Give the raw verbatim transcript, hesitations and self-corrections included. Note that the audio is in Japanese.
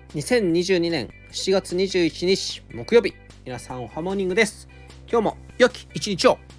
にせんにじゅうにねんしちがつにじゅういちにち木曜日、皆さんおはモーニングです。今日も良き一日を。